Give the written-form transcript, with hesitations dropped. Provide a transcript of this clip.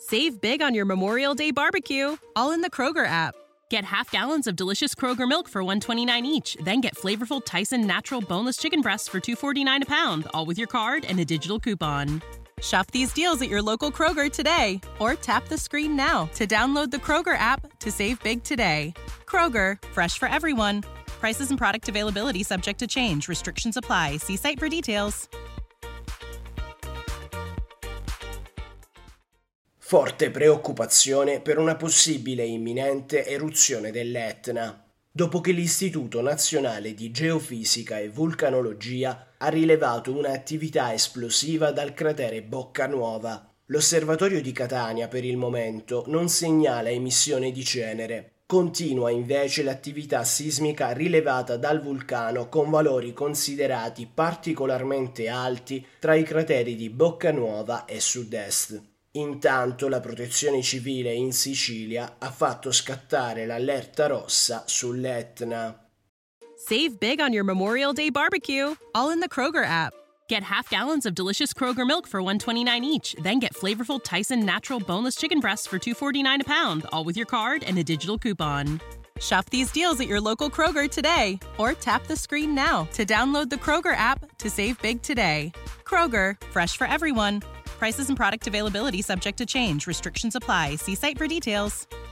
Save big on your Memorial Day barbecue, all in the Kroger app. Get half gallons of delicious Kroger milk for $1.29 each. Then get flavorful Tyson natural boneless chicken breasts for $2.49 a pound, all with your card and a digital coupon. Shop these deals at your local Kroger today, or tap the screen now to download the Kroger app to save big today. Kroger, fresh for everyone. Prices and product availability subject to change. Restrictions apply. See site for details. Forte preoccupazione per una possibile e imminente eruzione dell'Etna, dopo che l'Istituto Nazionale di Geofisica e Vulcanologia ha rilevato un'attività esplosiva dal cratere Boccanuova. L'osservatorio di Catania per il momento non segnala emissione di cenere. Continua invece l'attività sismica rilevata dal vulcano con valori considerati particolarmente alti tra i crateri di Boccanuova e Sud-Est. Intanto la Protezione Civile in Sicilia ha fatto scattare l'allerta rossa sull'Etna. Save big on your Memorial Day barbecue, all in the Kroger app. Get half gallons of delicious Kroger milk for $1.29 each. Then get flavorful Tyson natural boneless chicken breasts for $2.49 a pound, all with your card and a digital coupon. Shop these deals at your local Kroger today, or tap the screen now to download the Kroger app to save big today. Kroger, fresh for everyone. Prices and product availability subject to change. Restrictions apply. See site for details.